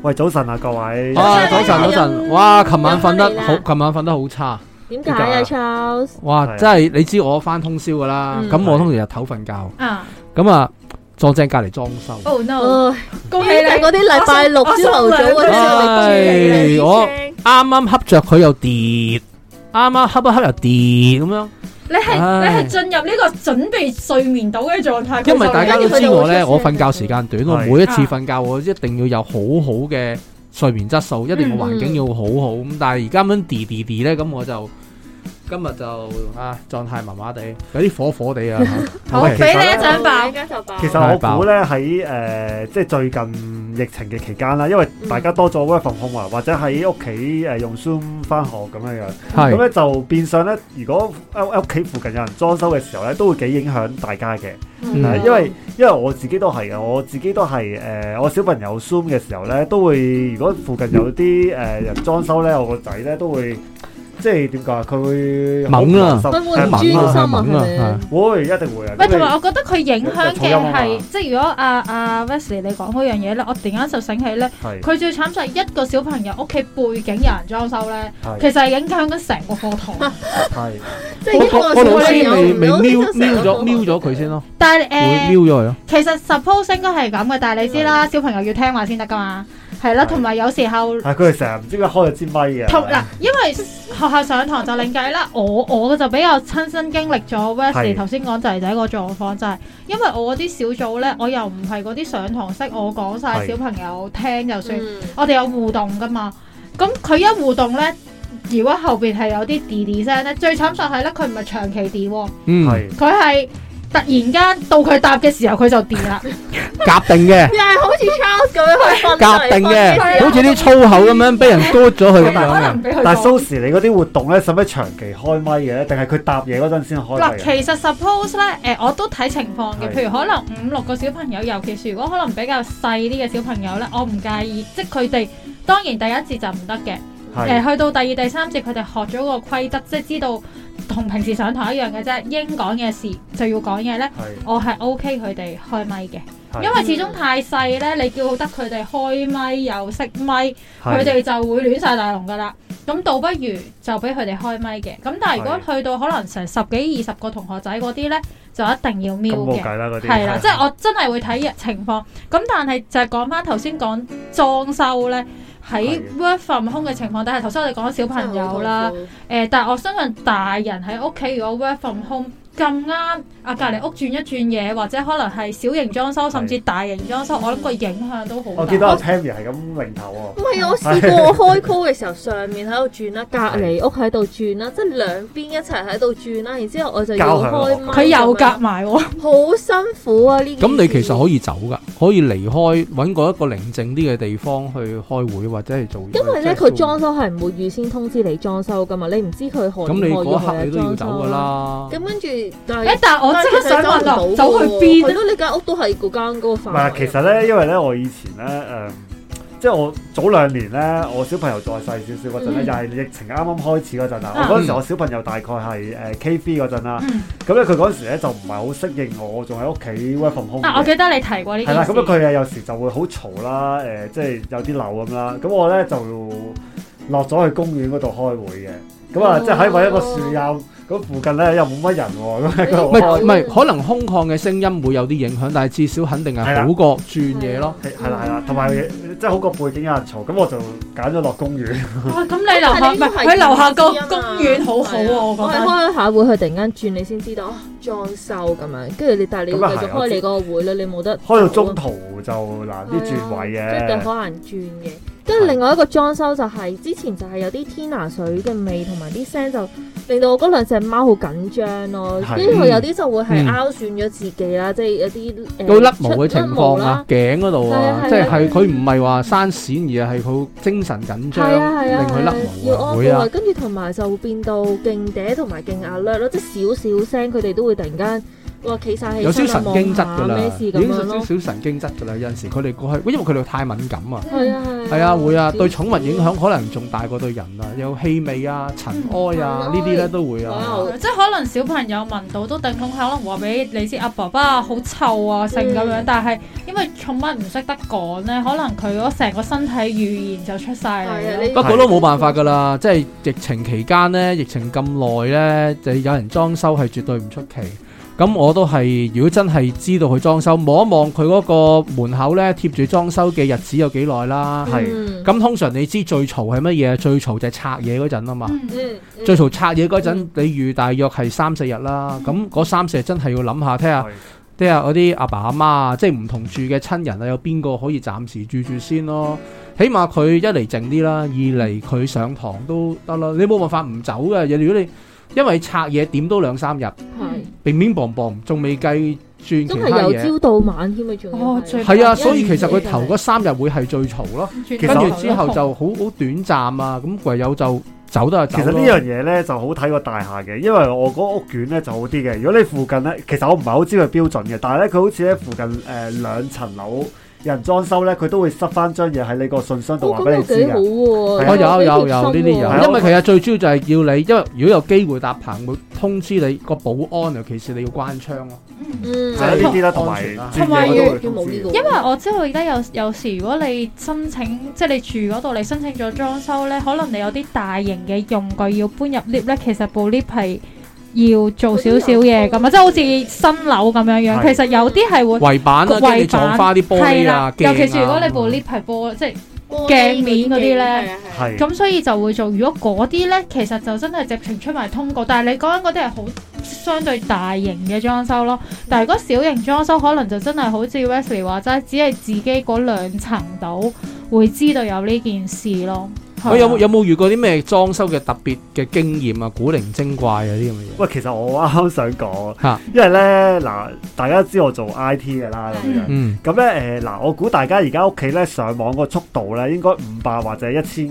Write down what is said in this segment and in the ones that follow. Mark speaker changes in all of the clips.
Speaker 1: 喂，早晨啊，各位。
Speaker 2: 早晨。哇，琴晚瞓得好差。
Speaker 3: 點解啊 ，Charles？
Speaker 2: 哇，真係你知我翻通宵噶啦，咁我通常日頭瞓覺。咁啊，撞正隔離裝修。
Speaker 3: Oh no！恭喜你嗰啲禮拜六朝頭早嗰啲。
Speaker 2: 我啱啱恰着佢又跌，啱啱恰一恰又跌咁樣。
Speaker 4: 你係進入呢個準備睡眠到嘅狀態。
Speaker 2: 因為大家都知我咧，我瞓覺時間短，我每一次瞓覺我一定要有好好嘅睡眠質素，一定個環境要好好。咁但係而家咁樣跌咧，咁我就今日就狀態麻麻地，有啲火火地啊。
Speaker 4: 好，俾你一張爆。
Speaker 1: 其實我估咧喺即係最近疫情嘅期間啦，因為大家多咗 work from home 啊，或者喺屋企用 Zoom 翻學咁樣樣，咁咧就變相咧，如果屋企附近有人裝修嘅時候咧，都會幾影響大家嘅。因為我自己都係嘅，我自己都係我小朋友 Zoom 嘅時候咧，都會如果附近有啲人裝修咧，我個仔咧都會。即係點講？佢會
Speaker 2: 猛啊，
Speaker 3: 會唔會唔專心啊？
Speaker 1: 會一定會啊！
Speaker 4: 喂，同埋我覺得佢影響嘅係，即係如果阿 Wesley 你講嗰樣嘢咧，我突然間就醒起咧，佢最慘就係一個小朋友屋企背景有人裝修咧，其實係影響緊成個課堂。
Speaker 1: 係，
Speaker 3: 即係
Speaker 2: 個老師未瞄咗佢先咯。
Speaker 4: 但係
Speaker 2: 會瞄咗佢咯。
Speaker 4: 其實 suppose 應該係咁嘅，但係你知啦，小朋友要聽話先得噶嘛。係啦，同埋有時候
Speaker 1: 佢哋成日唔知點解開咗支咪嘅。
Speaker 4: 嗱，因為學校上堂就另計啦。我就比較親身經歷咗 Wesley 頭先講仔仔個狀況，就係因為我嗰啲小組咧，我又唔係嗰啲上堂式，我講晒小朋友聽就算。我哋有互動噶嘛，咁佢一互動咧，如果後邊係有啲滴聲咧，最慘就係咧，佢唔係長期滴喎，佢係。突然間到佢答嘅時候，佢就跌啦。
Speaker 2: 夾定嘅，
Speaker 3: 又係好似 Charles 咁樣去
Speaker 2: 夾定嘅，好似啲粗口咁樣俾人嘟咗佢咁樣。
Speaker 1: 但係 Sosze 你嗰啲活動咧，使唔使長期開咪嘅？定係佢答嘢嗰陣先開？
Speaker 4: 嗱，其實 suppose 咧，我都睇情況嘅。譬如可能5-6個小朋友，尤其是如果可能比較細啲嘅小朋友咧，我唔介意，即係佢哋當然第一節就唔得嘅。去到第2、第3節，佢哋學咗個規則，即係知道同平時上堂一樣嘅啫。應講嘅事就要講嘢咧，我係 OK 佢哋開咪嘅，因為始終太細咧，你叫得佢哋開咪又熄咪，佢哋就會亂晒大龍噶啦。咁倒不如就俾佢哋開咪嘅。咁但係如果去到可能成10幾20個同學仔嗰啲咧，就一定要瞄嘅。係啦，即係我真係會睇情況。咁但係就係講翻頭先講裝修咧。喺 work from home 嘅情況底下，頭先我哋講小朋友啦，但係我相信大人喺屋企如果 work from home 咁啱，隔離屋轉一轉嘢，或者可能係小型裝修，甚至大型裝修，我諗個影響都好大。
Speaker 1: 我記得阿 Tammy 係咁擰頭喎。
Speaker 3: 唔係，我試過我開 call 嘅時候，上面喺度轉啦，隔離屋喺度轉啦，即係兩邊一齊喺度轉啦，然之後我就要開咪。
Speaker 4: 佢又夾埋喎，
Speaker 3: 好辛苦啊！呢件事。
Speaker 2: 咁你其實可以走㗎，可以離開，揾個一個寧靜啲嘅地方去開會或者係做嘢。
Speaker 3: 因為咧，佢裝修係唔會預先通知你裝修㗎嘛，你唔知佢可唔可以裝修。
Speaker 2: 咁你嗰刻你都要走㗎啦。
Speaker 3: 咁跟住。
Speaker 4: 但係我真係想問啦，走去邊？
Speaker 3: 係咯，你間屋都係嗰間嗰個範圍。
Speaker 1: 唔係，其實咧，因為咧，我以前咧，即係我早2年咧，我小朋友再細少少嗰陣咧，又係疫情啱啱開始嗰陣啦。我嗰陣時我小朋友大概係K3嗰陣啦。咁咧佢嗰陣時咧就唔係好適應我，仲喺屋企 work from home。
Speaker 4: 我記得你提過呢件事。係啦，
Speaker 1: 咁佢有時就會好嘈啦，即係有啲漏咁啦。咁我咧就落咗去公園嗰度開會嘅。咁啊，即係喺揾一個樹蔭。咁附近咧又冇乜人喎，
Speaker 2: 唔係，可能空曠嘅聲音會有啲影響，但係至少肯定係好過轉嘢咯。
Speaker 1: 係啦，同埋即係好過背景有人嘈，咁我就揀咗落公園。
Speaker 4: 哇！咁你樓下唔係佢樓下個公園好好喎，我覺得。
Speaker 3: 開下會，佢突然間轉，你先知道裝修咁樣，跟住但係你要繼續開你嗰個會咧，你冇得
Speaker 1: 開到中途就難啲轉位嘅，
Speaker 3: 即係好難轉嘅。跟住另外一個裝修就係之前就係有啲天拿水嘅味同埋啲聲，就令到我嗰兩隻貓好緊張咯。跟住佢有啲就會係拗損咗自己啦，即係有啲
Speaker 2: 有甩毛嘅情況啊，頸嗰度啊，即係佢唔係話生癬，而係佢精神緊張，令佢甩毛
Speaker 3: 要安撫。跟住同埋就會變到勁嗲同埋勁壓略咯，即係少少聲佢哋都會突然間話企晒起
Speaker 2: 有少神經質㗎啦，
Speaker 3: 咩事咁
Speaker 2: 已經
Speaker 3: 樣咯。
Speaker 2: 少神經質㗎啦。有陣時佢哋過去，因為佢哋太敏感啊。
Speaker 3: 係啊
Speaker 2: 會啊，對寵物影響可能仲大過對人啊，有氣味啊、塵埃啊呢啲咧都會啊。
Speaker 4: 即係可能小朋友聞到都頂籠，可能話俾你知阿爸爸好臭啊性咁樣，但係因為寵物唔識得講咧，可能佢嗰成個身體語言就出晒嚟。
Speaker 2: 不過都冇辦法㗎啦，即係疫情期間咧，疫情咁耐咧，就有人裝修係絕對唔出奇。咁我都係，如果真係知道佢裝修，望一望佢嗰個門口咧貼住裝修嘅日子有幾耐啦。咁通常你知最嘈係乜嘢？最嘈就係拆嘢嗰陣啊嘛。最嘈拆嘢嗰陣，你預大約係3-4日啦。咁嗰3-4日真係要諗下，聽下嗰啲阿爸阿媽啊，即係唔同住嘅親人啊，有邊個可以暫時住先咯？起碼佢一嚟靜啲啦，二嚟佢上堂都得啦。你冇辦法唔走嘅，如果你因為拆嘢點都2-3日，乒乒乓乓，仲未計轉其他嘢。真係由朝到晚添啊，仲係啊，所以其實佢頭嗰3日會係最嘈咯，跟住之後就好短暫啊，咁唯有就走得就走。
Speaker 1: 其實呢樣嘢咧就好睇個大廈嘅，因為我嗰屋苑咧就好啲嘅。如果你附近咧，其實我唔係好知佢標準嘅，但係咧佢好似咧附近2層樓有人裝修咧，佢都會塞翻張嘢喺你個信箱度話俾你知嘅。
Speaker 2: 有呢啲有，因為其實最主要就係要你，因為如果有機會搭棚，會通知你個保安，尤其是你要關窗咯。
Speaker 1: 係呢啲啦，同埋
Speaker 4: 因為我知道而家有時如果你申請，即係你住嗰度，你申請咗裝修咧，可能你有啲大型嘅用具要搬入 lift 咧，其實部 lift 係要做少少嘢咁啊，即係好似新樓咁樣樣。其實有啲係會
Speaker 2: 圍板啊，跟住撞花啲玻璃啊，
Speaker 4: 尤其是如果你部 lift 係玻，即係鏡面嗰啲咧，咁所以就會做。如果嗰啲咧，其實就真係直情出埋通告。但係你講緊嗰啲係好相對大型嘅裝修咯。但係如果小型裝修，可能就真係好似 Wesley 話齋，只係自己嗰2層度會知道有呢件事咯。
Speaker 2: 我有冇遇過啲咩裝修嘅特別嘅經驗啊？古靈精怪啊啲咁嘅嘢。
Speaker 1: 喂，其實我啱啱想講，因為咧嗱，大家知我做 IT 嘅啦咁樣，咁咧嗱，我估大家而家屋企咧上網個速度咧應該500或者1000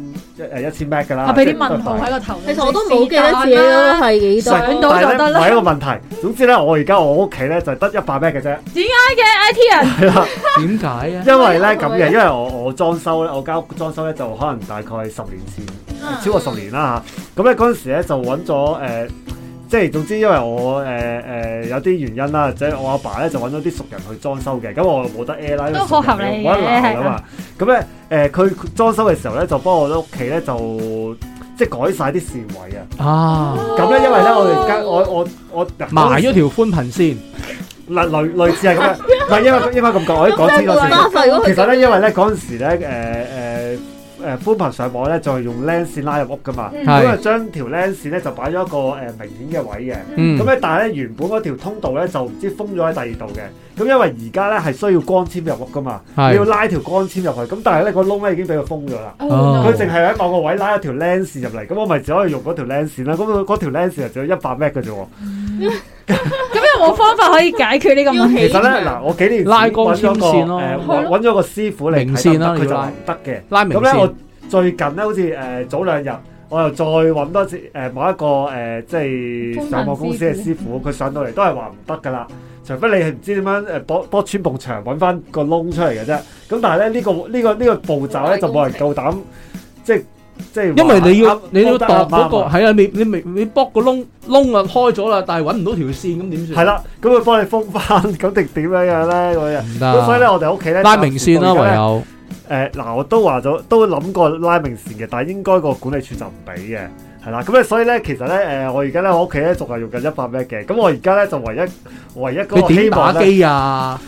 Speaker 1: Mbps 㗎啦。
Speaker 4: 我俾啲問號喺個頭。
Speaker 3: 其實我都冇記得自己係幾多，
Speaker 4: 上到就得啦。
Speaker 1: 唔係一個問題。總之咧，我而家我屋企咧就得100 Mbps 嘅啫。
Speaker 4: 點解嘅 IT 人？
Speaker 1: 係啦，
Speaker 2: 點解啊？
Speaker 1: 因為咧咁嘅，因為我裝修咧，我間屋裝修咧就可能大概10年前，超過10年啦嚇。咁咧嗰陣時咧就揾咗即係總之因為我有啲原因啦，即係我阿爸咧就揾咗啲熟人去裝修嘅，咁我冇得 air 啦，
Speaker 4: 都好合理嘅，
Speaker 1: 冇得鬧啊嘛。咁咧佢裝修嘅時候咧就幫我屋企咧就即係改晒啲線位啊。咁咧因為咧我哋間我
Speaker 2: 埋咗條寬頻線。
Speaker 1: 類似係咁樣，唔係應該咁講，我可以講清楚先。其實咧，因為咧嗰陣時咧，寬頻上網咧就係用 LAN 線拉入屋噶嘛，咁啊將條 LAN 線咧就擺咗一個明顯嘅位嘅，咁咧但係咧原本嗰條通道咧就唔知封咗喺第二度嘅，咁因為而家咧係需要光纖入屋噶嘛，你要拉條光纖入去，咁但係咧個窿咧已經俾佢封咗啦，佢淨係喺某個位拉一條 LAN 線入嚟，咁我咪只可以用嗰條 LAN 線啦，咁嗰條 LAN 線就只有100 Mbps 嘅啫喎。
Speaker 4: 咁有冇方法可以解決呢個問題？
Speaker 1: 其實咧，嗱，我幾年前
Speaker 2: 拉光纖線咯，
Speaker 1: 揾咗個師傅嚟睇得，佢就唔得嘅。
Speaker 2: 拉明線。
Speaker 1: 咁咧，我最近咧，好似早2日，我又再揾多次某一個即係上網公司嘅師傅，佢上到嚟都係話唔得噶啦。除非你係唔知點樣剝穿埲牆揾翻個窿出嚟嘅啫。咁但係咧呢個步驟咧就冇人夠膽即係
Speaker 2: 因為你要度嗰個係啊，你剝個窿啊開咗啦，但係揾唔到條線咁點算？
Speaker 1: 係啦，咁佢幫你封翻，咁定點樣樣咧？嗰日咁所以咧，我哋屋企咧
Speaker 2: 拉明線啦，唯有
Speaker 1: 嗱，我都話咗，都諗過拉明線嘅，但係應該個管理處就唔俾嘅，係啦。咁咧，所以咧，其實咧，我而家咧，我屋企咧仲係用緊100 Mbps 嘅。咁我而家咧就唯一嗰個希望咧，你點打機啊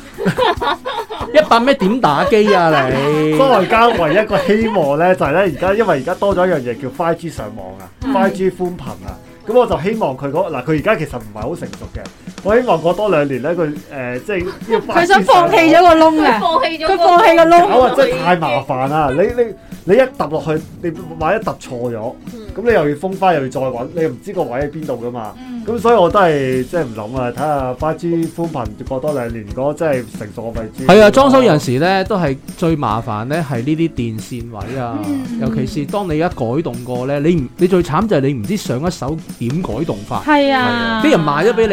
Speaker 1: ？100 Mbps 點打機啊你？所以我而家唯一一個希望咧就係咧，而家因為而家多咗一樣嘢叫 5G 上網啊，5G 寬頻啊。咁我就希望佢佢而家其實唔係好成熟嘅。我希望過多2年咧，佢即係要
Speaker 4: 佢想放棄咗個窿嘅，佢放棄個窿。
Speaker 1: 搞啊！真係太麻煩啦！你一揼落去，你萬一揼錯咗，咁你又要封翻，又要再揾，你又唔知個位喺邊度噶嘛？咁所以我都係即係唔諗啊！睇下 5G 寬頻過多2年，如果真係成熟，我咪知。係啊，裝修有陣時咧都係最麻煩咧，係呢啲電線位啊，尤其是當你一改動過咧，你最慘就係你唔知上一手點改動法。係啊，啲人賣咗俾你咧，未必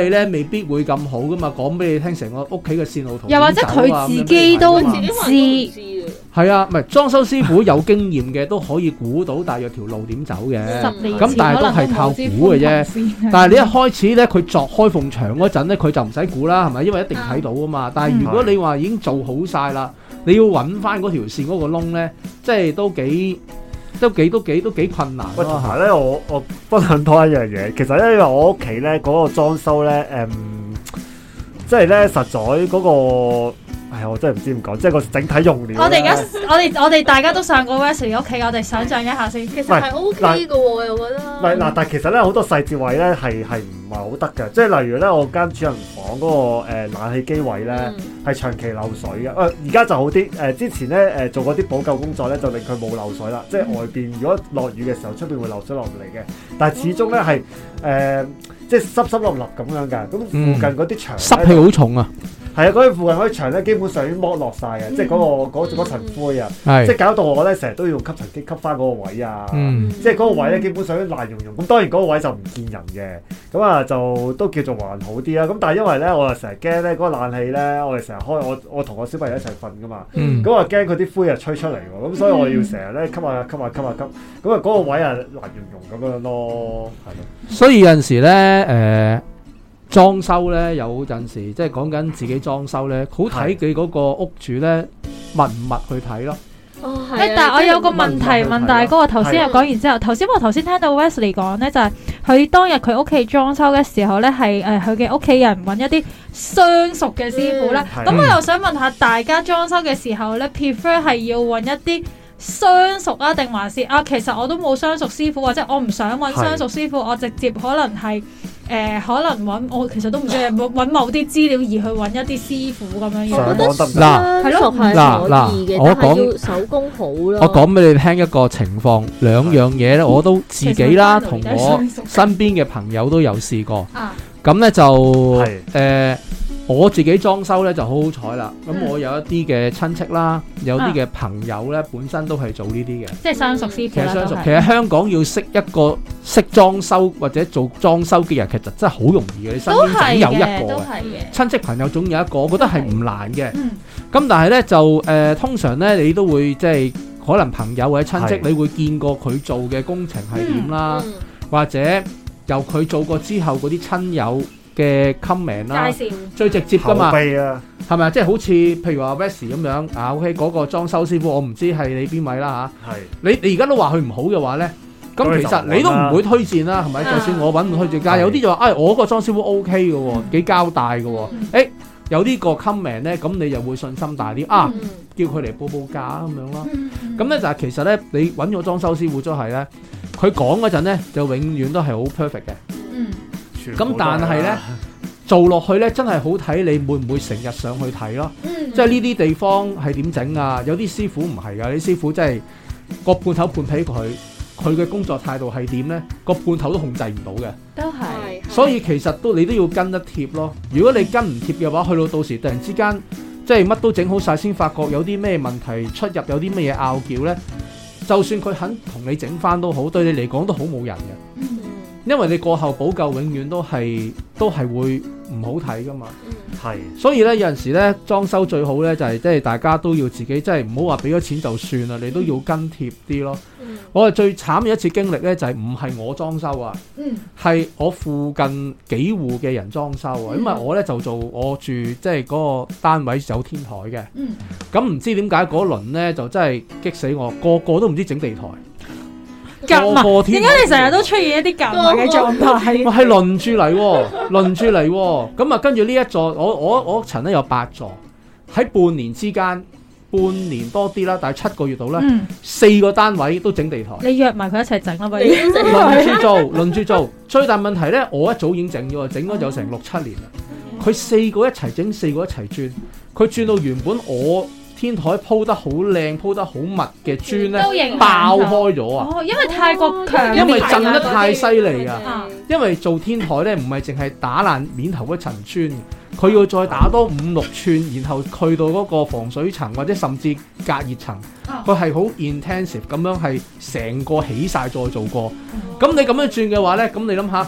Speaker 2: 必會咁好噶嘛，講俾你聽成個屋企嘅線路圖，
Speaker 4: 又或者佢自己都唔知。
Speaker 2: 係啊，唔係裝修師傅有經驗嘅都可以估到大約條路點走嘅，咁但係都係靠估嘅啫。但係你一開始咧，佢鑿開縫牆嗰陣咧，佢就唔使估啦，係咪？因為一定睇到啊嘛。但係如果你話已經做好晒啦，你要揾翻嗰條線嗰個窿咧，即係都幾困難。
Speaker 1: 喂，同埋咧，我分享多一樣嘢，其實咧，因為我屋企咧嗰個裝修咧，即係咧實在嗰個。我真係唔知點講，即係個整體用料。
Speaker 4: 我哋大家都上過 Wesley 屋企，我哋想象一下先。
Speaker 3: 其實係 OK 嘅喎，我又覺得。
Speaker 1: 唔係嗱，但係其實咧好多細節位咧係唔係好得嘅，即係例如咧我間主人房嗰個冷氣機位咧係長期漏水嘅。而家就好啲，之前咧做過啲補救工作咧，就令佢冇漏水啦。即係外邊如果落雨嘅時候，出邊會漏水落嚟嘅，但係始終咧係即係濕粒粒咁樣嘅。咁附近嗰啲牆
Speaker 2: 濕氣好重啊！
Speaker 1: 係啊，嗰啲附近嗰啲牆咧，基本上已經剝落晒嘅，即係嗰層灰啊，即係搞到我咧成日都要吸塵機吸翻嗰個位啊，即係嗰個位咧基本上都爛溶溶。咁當然嗰個位就唔見人嘅，咁啊就都叫做還好啲啦。咁但係因為咧，我又成日驚咧嗰個冷氣咧，我哋成日開，我同我小朋友一齊瞓噶嘛，咁我驚佢啲灰啊吹出嚟喎，咁所以我要成日咧吸下，咁啊嗰個位啊爛溶溶咁樣咯，係咯。
Speaker 2: 所以有陣時咧裝修咧有陣時即係講緊自己裝修咧，好睇佢嗰個屋主咧密唔密去睇咯。
Speaker 4: 但係我有個問題問大哥，我頭先又講完之後，我頭先聽到 Wesley 講咧，就係佢當日佢屋企裝修嘅時候咧，係佢嘅屋企人揾一啲相熟嘅師傅啦。咁我又想問下大家裝修嘅時候咧 prefer 係要揾一啲相熟啊，定還是其實我都冇相熟師傅，或者我唔想揾相熟師傅，我直接可能係可能揾我其實都唔知揾某啲資料而去揾一啲師傅咁樣。
Speaker 3: 我覺得相熟係可以嘅，但係要手工好咯。
Speaker 2: 我講俾你聽一個情況，兩樣嘢咧，我都自己啦，同我身邊嘅朋友都有試過。咁咧就我自己裝修咧就好好彩啦。咁我有一啲嘅親戚啦，有啲嘅朋友咧，本身都係做呢啲嘅，
Speaker 4: 即係相熟師傅啦。
Speaker 2: 其實香港要識一個識裝修或者做裝修嘅人，其實真係好容易嘅。你身邊總有一個嘅親戚朋友總有一個，我覺得係唔難嘅。咁但係咧就通常咧你都會即係可能朋友或者親戚，你會見過佢做嘅工程係點啦，或者由佢做過之後嗰啲親友嘅 comment 啦，最直接噶嘛，係咪啊？即係好似譬如話 Wesley 咁樣OK 嗰個裝修師傅，我唔知係你邊位啦嚇。你而家都話佢唔好嘅話咧，咁其實你都唔會推薦啦，係咪？就算我揾唔推薦，但係有啲就話我個裝修師傅 OK 嘅喎，幾交代嘅喎。有呢個 comment 咧，咁你就會信心大啲叫佢嚟報價咁樣咯。咁咧就係其實咧，你揾個裝修師傅都係咧，佢講嗰陣咧就永遠都係好 perfect 嘅。咁但係咧做落去咧真係好睇你會唔會成日上去睇咯。即係呢啲地方係點整啊？有啲師傅唔係㗎，啲師傅真係個判頭判俾佢嘅工作態度係點咧？個判頭都控制唔到嘅。
Speaker 4: 都係。
Speaker 2: 所以其實你都要跟得貼咯。如果你跟唔貼嘅話，去到時突然之間即係乜都整好晒，先發覺有啲咩問題出入，有啲咩嘢拗撬咧，就算佢肯同你整翻都好，對你嚟講都好冇人嘅。因為你過後補救永遠都係會唔好睇噶嘛。所以咧有陣時咧裝修最好咧就係即係大家都要自己即係唔好話俾咗錢就算啦，你都要跟貼啲咯。我係最慘嘅一次經歷咧就係唔係我裝修啊，係我附近幾戶嘅人裝修啊。因為我咧就我住即係嗰個單位有天台嘅，咁唔知點解嗰輪咧就真係激死我，個個都唔知整地台。
Speaker 4: 點解你成日都出現一啲夾埋嘅狀態？
Speaker 2: 係輪住嚟喎，咁啊跟住呢一座，我屋層咧有8座，喺半年之間，半年多啲啦，但係7個月度咧，4個單位都整地台。你約埋佢一齊整啦，不如輪住做。最大問題咧，我一早已經整咗有成6-7年啦。佢4個一齊整，4個一齊轉，佢轉到原本我天台鋪得好靚、鋪得好密嘅磚咧，爆開咗啊！
Speaker 4: 因為太過強，
Speaker 2: 因為震得太犀利啊！因為做天台咧，唔係淨係打爛面頭嗰層磚，佢要再打多5-6寸，然後去到嗰個防水層或者甚至隔熱層，佢係好 intensive 咁樣係成個起晒再做過。咁你咁樣轉嘅話咧，咁你諗下，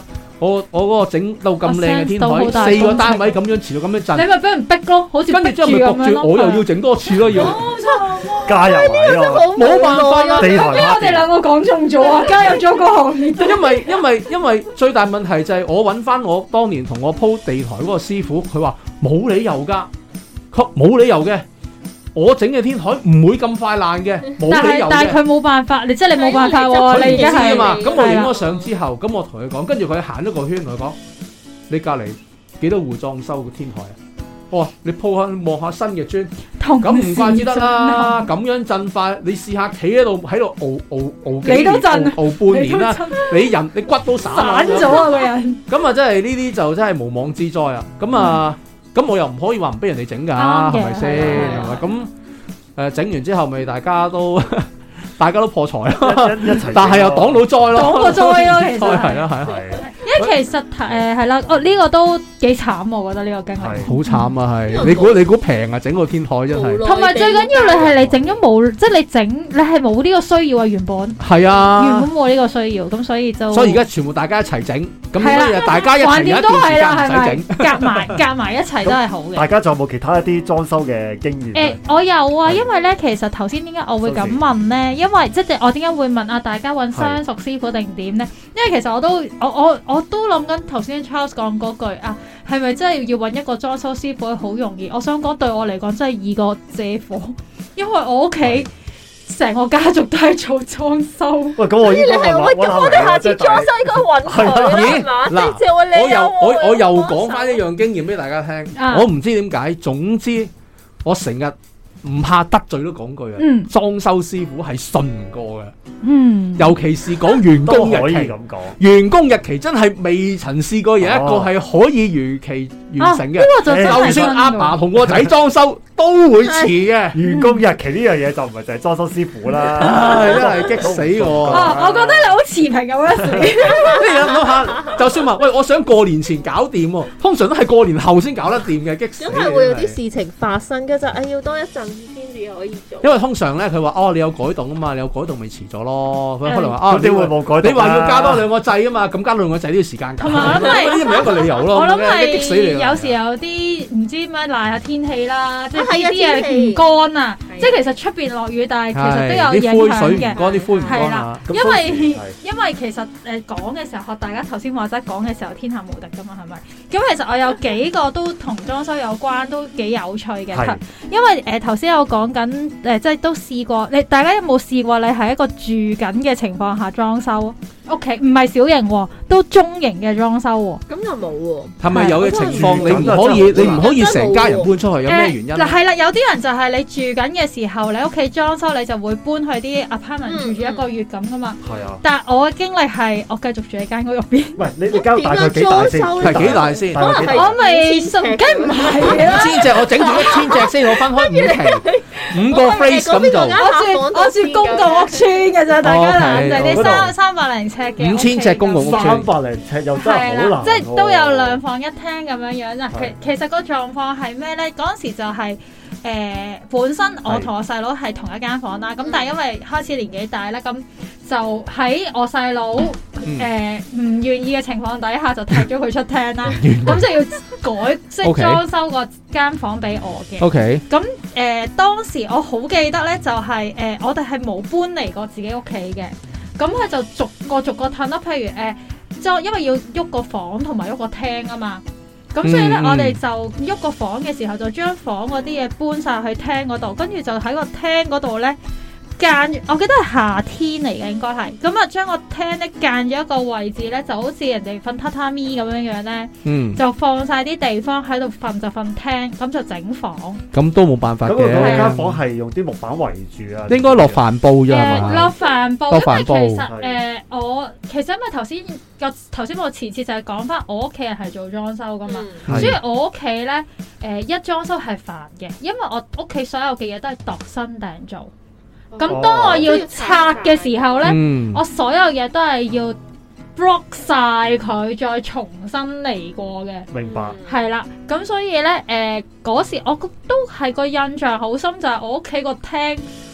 Speaker 2: 我嗰個整到咁靚嘅天台，4個單位咁樣遲到咁樣震，
Speaker 4: 你咪俾人逼咯，好似
Speaker 2: 跟住之後咪焗住，我又要整多次咯，要
Speaker 1: 加入位咯，
Speaker 2: 冇辦法啦。
Speaker 1: 地台
Speaker 4: 我哋兩個講中咗啊，加入咗個行業。
Speaker 2: 因為最大問題就係我揾翻我當年同我鋪地台嗰個師傅，佢話冇理由㗎，冇理由嘅。我整嘅天台唔會咁快爛嘅，冇理由嘅。
Speaker 4: 但係佢冇辦法，你冇辦法喎。你而家係
Speaker 2: 嘛？咁我影咗相之後，咁我同佢講，跟住佢行咗個圈，同佢講：你隔離幾多戶裝修嘅天台啊？哦，你鋪下望下新嘅磚，咁唔怪之得啦。咁樣震快，你試下企喺度熬幾年，熬半年啦。你骨都散
Speaker 4: 咗啊個人。
Speaker 2: 咁啊，真係呢啲就真係無妄之災啊！咁啊。咁我又唔可以話唔俾人哋整㗎，係咪先？咁整完之後，咪大家都破財咯，但係又擋到災咯，
Speaker 4: 擋個災咯，其實
Speaker 2: 係啦。
Speaker 4: 因為其實係啦，呢個都幾慘，我覺得呢個經歷
Speaker 2: 好慘啊！係你估平啊？整個天台真係，
Speaker 4: 同埋最緊要你整咗冇，即係你係冇呢個需要啊！原本
Speaker 2: 係啊，
Speaker 4: 原本冇呢個需要，咁所以而家全部大家一齊整，咁大家一齊有一段時間唔使整，夾埋一齊都係好嘅。
Speaker 1: 大家仲有冇其他一啲裝修嘅經驗？
Speaker 4: 我有啊，因為咧其實頭先點解我會咁問咧？因為即係我點解會問大家揾相熟師傅定點咧？因為其實我都諗緊頭先 Charles 講嗰句啊，係咪真係要揾一個裝修師傅好容易？我想講對我嚟講真係易過借火，因為我屋企成個家族都係做裝修。
Speaker 1: 喂，咁我
Speaker 3: 哋下次裝修應該揾佢啦，
Speaker 2: 我又講翻一樣經驗俾大家聽。我唔知點解，總之我成日唔怕得罪都講句啊，裝修師傅係信唔過嘅。尤其是講員工日期，員工日期真係未曾試過有一個係可以如期完成嘅。就算阿爸同個仔裝修都會遲嘅。員工日期呢樣嘢就唔係就係裝修師傅啦，真係激死我。
Speaker 4: 我覺得你好持平咁樣死。
Speaker 2: 你諗下，就算話喂，我想過年前搞掂喎，通常都係過年後先搞得掂嘅，激死。
Speaker 3: 咁係會有啲事情發生嘅就要多一陣先至可以做。
Speaker 2: 因為通常咧，佢話你有改動啊嘛，你有改動咪遲咗咯。佢可能話
Speaker 1: 你會冇改動？
Speaker 2: 你話要加多2個掣啊嘛，咁加2個掣都要時間㗎。
Speaker 4: 同埋我諗係
Speaker 2: 呢啲咪一個理由咯。
Speaker 4: 我諗係
Speaker 2: 激死你
Speaker 4: 有時有啲唔知咩賴下天氣啦，即係啲嘢唔乾啊。即係其實出邊落雨，但係其實都有影響嘅。
Speaker 2: 啲灰唔乾
Speaker 4: 係啦，因為其實講嘅時候，學大家頭先話齋講嘅時候，天下無敵㗎嘛，係咪？咁其實我有幾個都同裝修有關，都幾有趣嘅。因為頭先有講緊即係都試過，大家有冇試過？你係一個住緊嘅情況下裝修屋企，唔係小型喎，都中型嘅裝修喎。
Speaker 3: 咁又冇喎。
Speaker 2: 係咪有嘅情況？你唔可以成家人搬出去？有咩原因？
Speaker 4: 係啦，有啲人就係你住緊嘅時候，你屋企裝修，你就會搬去啲 apartment 住一個月咁噶嘛。係啊。但係我嘅經歷係，我繼續住喺間屋入邊。喂，
Speaker 1: 你間大概幾大先？
Speaker 2: 係幾大先？
Speaker 4: 我咪梗唔係啦。
Speaker 2: 5,000隻，我整住1000隻先，我分開5期，5個 phrase 咁就。
Speaker 4: 我住公共屋邨嘅啫，大家嗱，就係啲300零尺嘅
Speaker 2: 5,000尺公共屋邨
Speaker 1: ，300零尺又真係好難。
Speaker 4: 即係都有2房1廳咁樣樣啦。其實個狀況係咩咧？嗰陣時就係本身我同我細佬係同一間房啦。咁但係因為開始年紀大咧，咁就喺我細佬唔願意嘅情況底下，就踢咗佢出廳啦。咁就要改即係裝修個間房俾我嘅。
Speaker 2: OK。
Speaker 4: 咁當時我好記得咧，就係我哋係冇搬離過自己屋企嘅。咁佢就逐個褪啦。譬如因為要喐個房同埋喐個廳啊嘛。咁所以咧，我哋就喐個房嘅時候，就將房嗰啲嘢搬晒去廳嗰度，跟住就喺個廳嗰度咧我記得係夏天嚟嘅應該係，咁啊將個廳咧間咗一個位置咧，就好似人哋瞓榻榻米咁樣樣咧，就放晒啲地方喺度瞓就瞓廳，咁就整房。咁
Speaker 2: 都冇辦法嘅。
Speaker 1: 咁間房係用啲木板圍住啊？
Speaker 2: 應該落帆布啫係嘛？
Speaker 4: 落帆布，因為其實其實因為頭先我前次就係講翻我屋企人係做裝修噶嘛，所以我屋企咧一裝修係煩嘅，因為我屋企所有嘅嘢都係度身訂做。咁當我要拆嘅時候咧，我所有嘢都係要 block 晒佢，再重新嚟過嘅。
Speaker 1: 明白。
Speaker 4: 係啦，咁所以咧，嗰時我都係個印象好深，就係我屋企個廳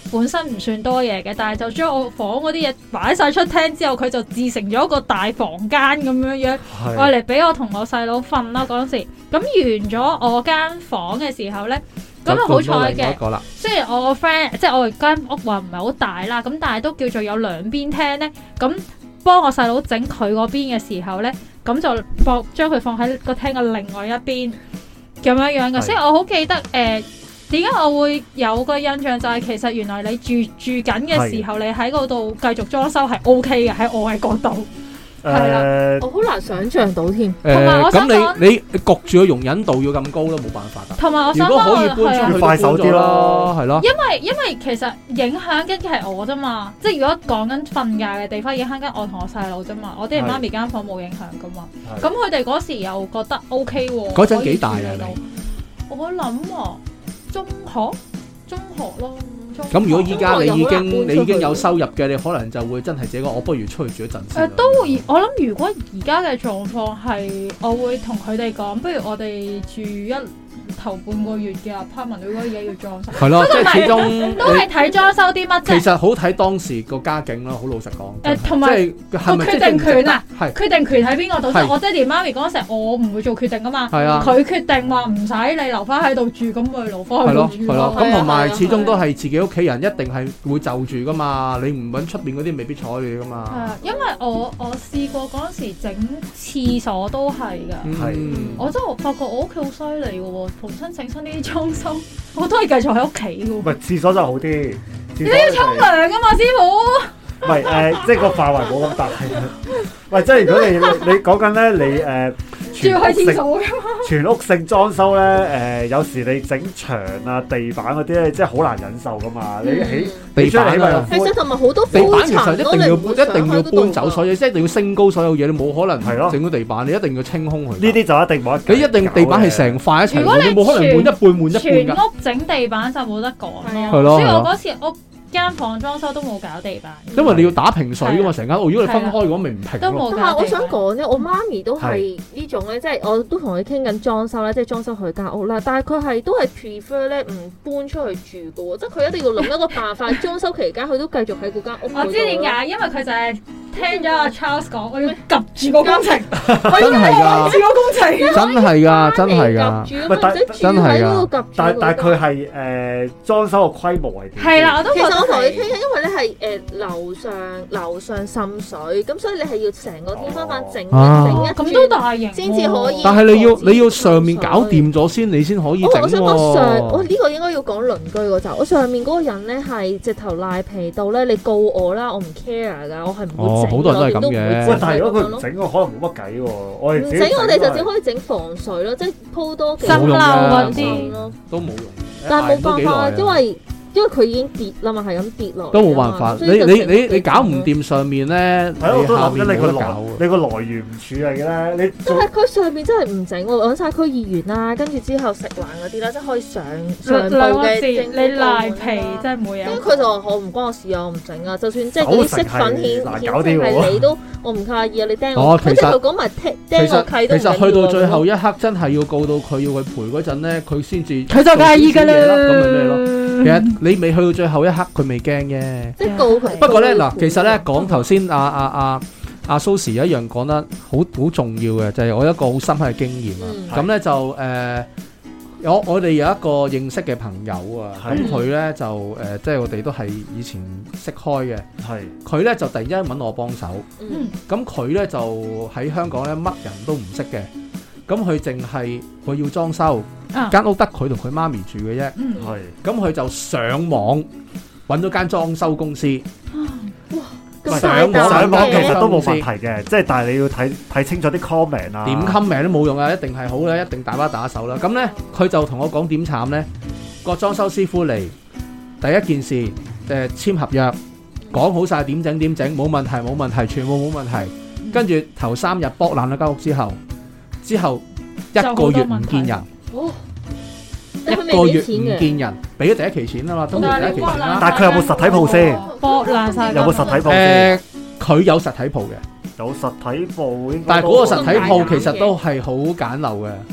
Speaker 4: 本身唔算多嘢嘅，但係就將我房嗰啲嘢擺晒出廳之後，佢就自成咗一個大房間咁樣樣，愛嚟俾我同我細佬瞓啦嗰陣時。咁完咗我間房嘅時候咧，咁啊好彩嘅。雖然我個 friend 即係我間屋話唔係好大啦，咁但係都叫做有兩邊廳咧。咁幫我細佬整佢嗰邊嘅時候咧，咁就將佢放喺個廳嘅另外一邊咁樣樣嘅。所以我好記得點解我會有個印象就係其實原來你住緊嘅時候，你喺嗰度繼續裝修係 OK 嘅，喺我嘅角度。係啦，
Speaker 3: 我好難想像到添。
Speaker 4: 同埋我想講，
Speaker 2: 你焗住個容忍度要咁高都冇辦法㗎。
Speaker 4: 同埋我想講，
Speaker 2: 如果可以搬出去
Speaker 1: 快手啲咯，
Speaker 2: 係咯。
Speaker 4: 因為其實影響緊嘅係我啫嘛，即係如果講緊瞓覺嘅地方，影響緊我同我細佬啫嘛。我爹哋媽咪間房冇影響㗎嘛。咁佢哋嗰時又覺得 OK 喎。
Speaker 2: 嗰陣幾大啊你？
Speaker 4: 我諗啊，中學咯。
Speaker 2: 咁如果依家你已經有收入嘅，你可能就會真係自己講，我不如出去住一陣先。
Speaker 4: 都會，我諗如果而家嘅狀況係，我會同佢哋講，不如我哋住頭半個月嘅 apartment，如果而家要裝修，
Speaker 2: 係咯，即係始終
Speaker 4: 都係睇裝修啲乜啫。
Speaker 2: 其實好睇當時個家境咯，好老實講。
Speaker 4: 同埋個決定權啊，決定權喺邊個度？我爹哋媽咪嗰陣時，我唔會做決定噶嘛。係啊，佢決定話唔使你留翻喺度住，咁咪留翻喺度住咯。
Speaker 2: 咁同埋始終都係自己屋企人，一定係會就住噶嘛。你唔揾出邊嗰啲，未必睬你噶嘛。係啊，
Speaker 4: 因為我試過嗰陣時整廁所都係㗎。我真係發覺我屋企好犀利嘅喎。重新整親呢啲裝修，我都係繼續喺屋企嘅喎。唔
Speaker 1: 係廁所就好啲，
Speaker 4: 你都要沖涼㗎嘛，師傅。
Speaker 1: 唔係即係個範圍冇咁大。喂，即係如果你講緊咧，你
Speaker 4: 住喺廁所㗎嘛？
Speaker 1: 全屋性裝修咧，有時你整牆啊、地板嗰啲咧，即係好難忍受㗎嘛。你起地板啊，
Speaker 3: 其實同埋好多
Speaker 2: 地板其實一定要搬走所有，即係一定要升高所有嘢，你冇可能係咯整到地板，你一定要清空佢。呢
Speaker 1: 啲就一定冇得。
Speaker 2: 你一定地板係成塊一齊，你冇可能換一半換一半㗎。
Speaker 4: 全屋整地板就冇得講咯。所以我嗰次間房裝修都冇搞地板，
Speaker 2: 因為你要打平水噶嘛，成間屋如果你分開嘅話，咪唔平咯。
Speaker 3: 但係我想講咧，我媽咪都係呢種咧，即係我都同佢傾緊裝修啦，即係裝修佢間屋啦。但係佢都係 prefer 咧唔搬出去住嘅喎，即係佢一定要諗一個辦法，裝修期間佢都繼續喺嗰間屋。
Speaker 4: 我知點解，因為佢就係聽咗阿 Charles 講，我要及住個工程，我要
Speaker 2: 及
Speaker 4: 住個工程，
Speaker 2: 真係㗎，真係㗎，真係㗎。
Speaker 1: 但係佢係裝修個規模係點？
Speaker 4: 係啦，我都覺得。
Speaker 3: 我同你傾緊，因為咧係樓上滲水，咁所以你係要成個天花板整一
Speaker 4: 咁都大型
Speaker 3: 先至可以。
Speaker 2: 但係你要上面搞掂咗先，你先可以整喎。
Speaker 3: 我想講我呢個應該要講鄰居嗰集。我上面嗰個人咧係直頭賴皮到咧，你告我啦，我唔 care 㗎，我係唔會整。
Speaker 2: 好多人都係咁嘅。
Speaker 1: 但係如果佢唔整，我可能冇乜計喎。我哋
Speaker 3: 整，我哋就只可以整防水咯，即係鋪多幾
Speaker 4: 層樓嗰啲
Speaker 3: 咯，
Speaker 2: 都冇用。
Speaker 3: 但係冇辦法，因為佢已經跌啦嘛，係咁跌落。
Speaker 2: 都冇辦法，你搞唔掂上面咧，
Speaker 1: 係咯，都諗緊你個來源唔處理嘅咧，
Speaker 3: 但係佢上面真係唔整喎，揾晒區議員啦，跟住之後食環嗰啲啦，即係可以上報嘅。
Speaker 4: 你賴皮真係冇嘢。
Speaker 3: 因為佢就話我唔關我事啊，我唔整啊，就算即係嗰啲色粉顯係你都，我唔介意啊，你釘我。
Speaker 2: 其實
Speaker 3: 講埋釘我契都唔緊要。
Speaker 2: 其實去到最後一刻，真係要告到佢要佢賠嗰陣咧，佢先至
Speaker 4: 佢就介意㗎啦。
Speaker 2: 咁咪咩咯？其實你未去到最後一刻，佢未驚嘅。
Speaker 3: 即係告佢。
Speaker 2: 不過咧嗱，其實咧講頭先阿Sosze 有一樣講得好重要嘅，就係我一個好深刻嘅經驗啊。咁咧就我哋有一個認識嘅朋友啊，咁佢咧就即係我哋都係以前識開嘅。係佢咧就突然之間揾我幫手。咁佢咧就喺香港咧乜人都唔識嘅。咁佢淨係佢要裝修，間屋得佢同佢媽咪住嘅啫。係，咁佢就上網揾咗間裝修公司。
Speaker 1: 上網其實都冇問題嘅，即係但係你要睇清楚啲 comment 啊。
Speaker 2: 點 comment 都冇用啊，一定係好啦，一定大把打手啦。咁咧佢就同我講點慘咧，個裝修師傅嚟第一件事簽合約，講好晒點整，冇問題，全部冇問題。跟住頭3日剝爛咗間屋之後1個月唔見人，1個月唔見人，俾咗第一期錢啊嘛，通常第一期錢啦。
Speaker 1: 但係佢有冇實體鋪先？
Speaker 4: 剝爛晒。
Speaker 1: 有冇實體鋪先？
Speaker 2: 佢有實體鋪嘅，
Speaker 1: 有實體鋪。
Speaker 2: 但係嗰個實體鋪其實都係好簡陋嘅，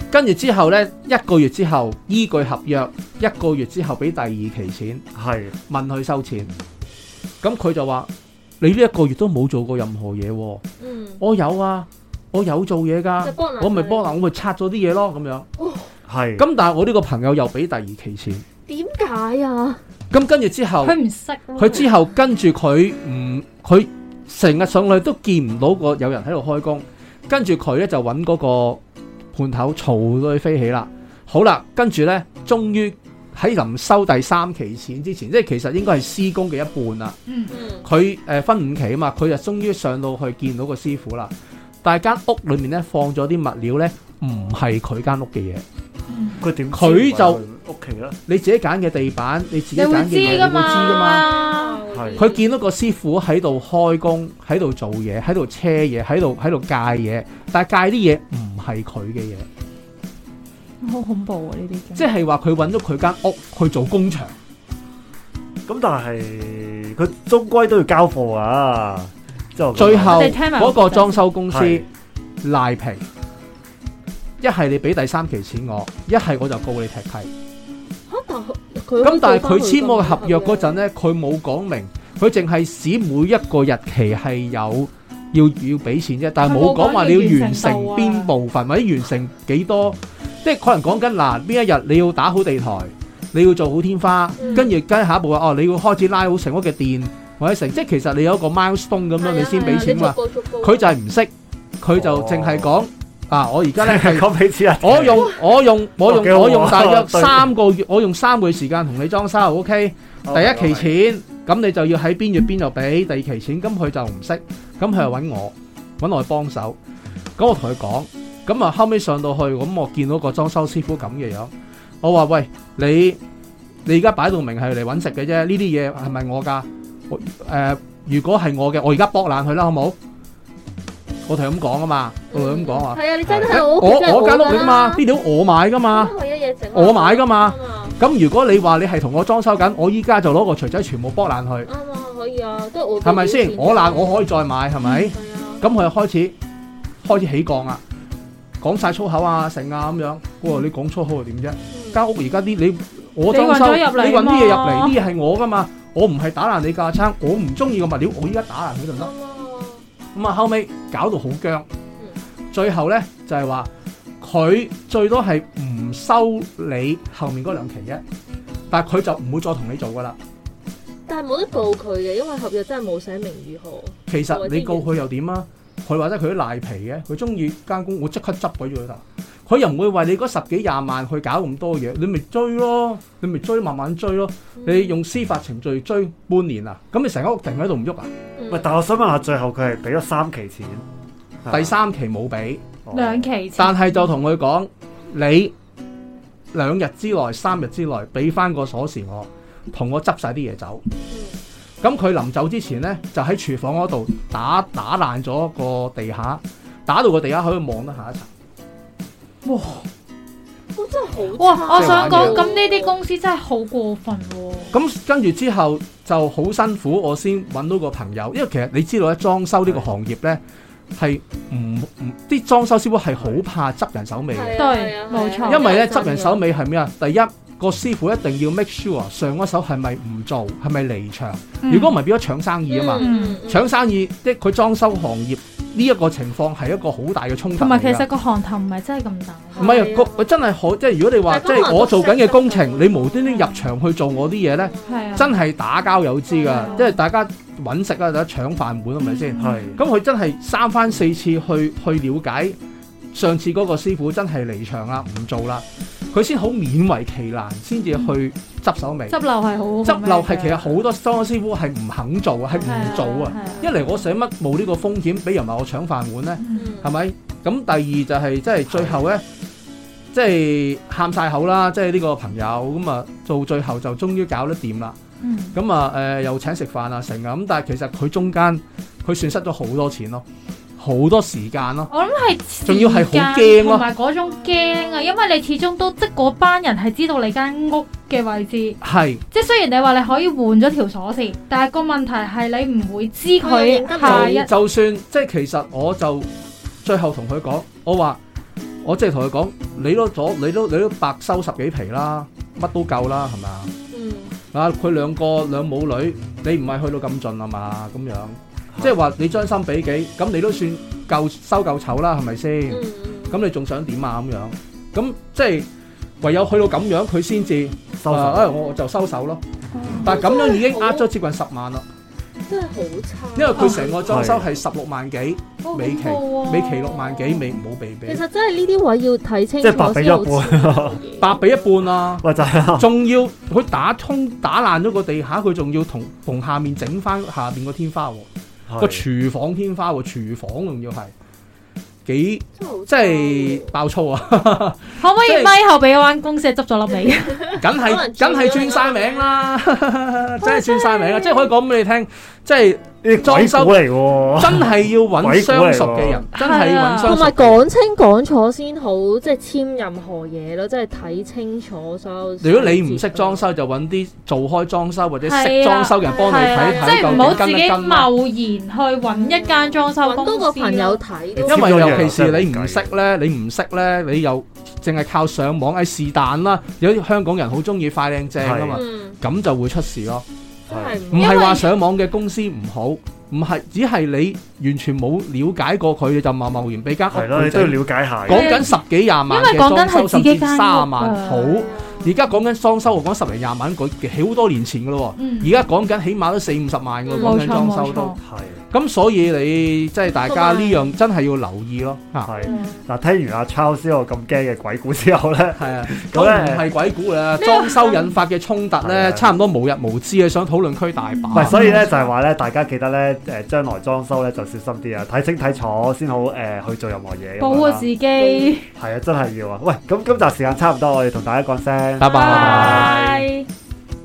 Speaker 2: 跟住之後咧1個月之後依據合約1個月之後俾第2期錢，
Speaker 1: 係
Speaker 2: 問佢收錢，咁佢就話你呢1個月都冇做過任何嘢喎。我有啊，我有做嘢㗎，我咪幫我咪拆咗啲嘢咯咁樣。
Speaker 1: 係
Speaker 2: 咁但係我呢個朋友又俾第2期錢，
Speaker 3: 點解啊？
Speaker 2: 咁跟住之後
Speaker 4: 佢唔識咯，
Speaker 2: 佢之後跟住佢成日上去都見唔到有人喺度開工，跟住佢咧就揾嗰個判頭嘈到佢飛起啦。好啦，跟住咧終於喺臨收第3期錢之前，即係其實應該係施工嘅一半啦。佢分5期啊嘛，佢就終於上到去見到個師傅啦。但係間屋裏面咧放咗啲物料咧，唔係佢間屋嘅嘢。
Speaker 1: 佢點？
Speaker 2: 佢就
Speaker 1: 屋企啦。
Speaker 2: 你自己揀嘅地板，你自己揀嘅嘢，你會知㗎嘛？佢見到個師傅喺度開工，喺度做嘢，喺度車嘢，喺度戒嘢，但係戒啲嘢唔係佢嘅嘢。
Speaker 4: 好恐怖啊！呢啲
Speaker 2: 即係話佢揾咗佢間屋去做工場。
Speaker 1: 咁但係佢終歸都要交貨啊！
Speaker 2: 最後嗰個裝修公司賴皮，一係你俾第3期錢我，一係我就告你踢契。咁但係佢簽我嘅合約嗰陣咧，佢冇講明，佢淨係指每一個日期係有要俾錢啫，但係冇講話你要完成邊部分或者完成幾多，即係可能講緊嗱邊一日你要打好地台，你要做好天花，跟住跟下一步話你要開始拉好成屋嘅電或者成，即係其實你有一個 milestone 咁樣你先俾錢嘛。佢就係唔識，佢就淨係講。我而家咧係
Speaker 1: 講俾錢啊！
Speaker 2: 我用大約3個月，我用3個月時間同你裝修 ，OK？第1期錢，咁你就要喺邊月邊度俾第2期錢，咁佢就唔識，咁佢就揾我去幫手，咁我同佢講，咁啊後尾上到去，咁我見到個裝修師傅咁嘅樣，我話喂，你而家擺到明係嚟揾食嘅啫，呢啲嘢係咪我㗎？如果係我嘅，我而家剝爛佢啦，好冇？我同佢咁講啊嘛，我同佢咁講啊。
Speaker 3: 係啊，你真係我
Speaker 2: 間屋嚟噶嘛，啲料我買噶嘛，我買噶嘛。咁如果你話你係同我裝修緊，我依家就攞個錘仔全部剝爛佢。
Speaker 3: 啱啊，可以啊，都係我。
Speaker 2: 係咪先？我爛我可以再買，係咪？咁佢就開始起降啦，講晒粗口啊，成啊咁樣。哇！你講粗口又點啫？間屋而家啲我裝修，你運啲嘢入嚟，啲嘢係我噶嘛，我唔係打爛你架撐，我唔中意個物料，我依家打爛佢就得。咁啊，後尾搞到好僵，最後咧就係話佢最多係唔收你後面嗰2期啫，但係佢就唔會再同你做噶啦。
Speaker 3: 但係冇得告佢嘅，因為合約真係冇寫明如何。
Speaker 2: 其實你告佢又點啊？佢或者佢都賴皮嘅，佢中意間工，我即刻執鬼咗佢啦。佢又唔會為你嗰10幾20萬去搞咁多嘢，你咪追咯，你咪追，慢慢追咯。你用司法程序追半年啊，咁你成間屋停喺度唔喐啊？
Speaker 1: 喂，但係我想問下，最後佢係俾咗3期錢，
Speaker 2: 第3期冇俾
Speaker 4: 2期錢，
Speaker 2: 但係就同佢講，你2日之內、3日之內俾翻個鎖匙我，同我執晒啲嘢走。咁佢臨走之前咧，就喺廚房嗰度打爛咗個地下，打到個地下可以望得下一層。
Speaker 3: 哇！真係好
Speaker 4: 哇！我想講，咁呢啲公司真係好過分喎。
Speaker 2: 咁跟住之後就好辛苦，我先揾到個朋友，因為其實你知道咧，裝修呢個行業咧係啲裝修師傅係好怕執人手尾嘅。
Speaker 4: 對，冇錯。
Speaker 2: 因為咧執人手尾係咩啊？第一個師傅一定要 make sure 上一手係咪唔做，係咪離場。如果唔係變咗搶生意啊嘛，搶生意即係佢裝修行業。呢一個情況係一個好大嘅衝突，
Speaker 4: 同埋其實個行頭唔係真係咁大。
Speaker 2: 唔係啊，真係好，即係如果你話即係我做緊嘅工程，你無端端入場去做我啲嘢咧，真係打交有知㗎，即係大家揾食啊，大家搶飯碗係咪先？係。咁佢真係3番4次去了解，上次嗰個師傅真係離場啦，唔做啦，佢先好勉為其難先至去執手尾。
Speaker 4: 執漏係好，
Speaker 2: 執漏係其實好多裝修師傅係唔肯做啊，係唔做啊。一嚟我寫乜冇呢個風險，俾人話我搶飯碗咧，係咪？咁第二就係即係最後咧，即係喊晒口啦，即係呢個朋友咁啊，到最後就終於搞得掂啦。咁啊又請食飯啊成啊，咁但係其實佢中間佢損失咗好多錢咯。好多時間咯，
Speaker 4: 我諗係
Speaker 2: 仲要係好驚咯，
Speaker 4: 同埋嗰種驚啊，因為你始終都即係嗰班人係知道你間屋嘅位置，
Speaker 2: 係
Speaker 4: 即係雖然你話你可以換咗條鎖匙，但係個問題係你唔會知佢下一
Speaker 2: 就算即係其實我就最後同佢講，我話我即係同佢講，你都白收10幾皮啦，乜都夠啦，係咪啊？啊，佢兩母女，你唔係去到咁盡啊嘛？咁樣，即係話你將心比己，咁你都算收夠籌啦，係咪先？咁你仲想點啊？咁樣，咁即係唯有去到咁樣，佢先至收手。我就收手咯。但係咁樣已經呃咗接近10萬啦。
Speaker 3: 真係好差。因
Speaker 2: 為佢成個裝修係16萬幾，尾期6萬幾，未冇被俾。
Speaker 3: 其實真係呢啲位要睇清楚，
Speaker 1: 即係白俾一半，
Speaker 2: 白俾一半啊！
Speaker 1: 喂，就係
Speaker 2: 仲要佢打爛咗個地下，佢仲要同下面整翻下面個天花喎，個廚房天花喎，廚房仲要係。幾即係爆粗啊！
Speaker 4: 可唔可以咪後俾嗰間公司執咗粒尾？
Speaker 2: 梗係轉晒名啦，真係轉晒名啊！即係可以講俾你聽，即係裝修
Speaker 1: 嚟喎，
Speaker 2: 真係要揾相熟嘅人，真係要揾相熟。
Speaker 3: 同埋講清講楚先好，即係簽任何嘢咯，即係睇清楚所有。
Speaker 2: 如果你唔識裝修，就揾啲做開裝修或者識裝修嘅人幫你睇睇，
Speaker 4: 即係唔好自己貿然去揾一間裝修公司。
Speaker 3: 多個朋友睇，
Speaker 2: 因為尤其是你唔識咧，你又淨係靠上網，是但啦。有啲香港人好中意快靚正啊嘛，咁就會出事咯。唔係話上網嘅公司唔好，唔係只係你完全冇了解過佢，就貿然俾間屋。
Speaker 1: 係咯，你都要了解下。
Speaker 2: 講緊10幾20萬嘅裝修，甚至30萬好。而家講緊裝修，我講10零20萬，佢好多年前噶咯。而家講緊起碼都40-50萬噶，講緊裝修都係。咁所以你即係大家呢樣真係要留意咯。
Speaker 1: 係嗱，聽完阿 Charles 個咁驚嘅鬼故之後咧，
Speaker 2: 係啊，咁唔係鬼故啦，裝修引發嘅衝突咧，差唔多無日無之嘅，想討論區大把。
Speaker 1: 唔係，所以咧就係話咧，大家記得咧，將來裝修咧就小心啲啊，睇清睇楚先好去做任何嘢。
Speaker 4: 保護自己。
Speaker 1: 係啊，真係要啊！喂，咁今集時間差唔多，我哋同大家講聲，
Speaker 2: 拜拜。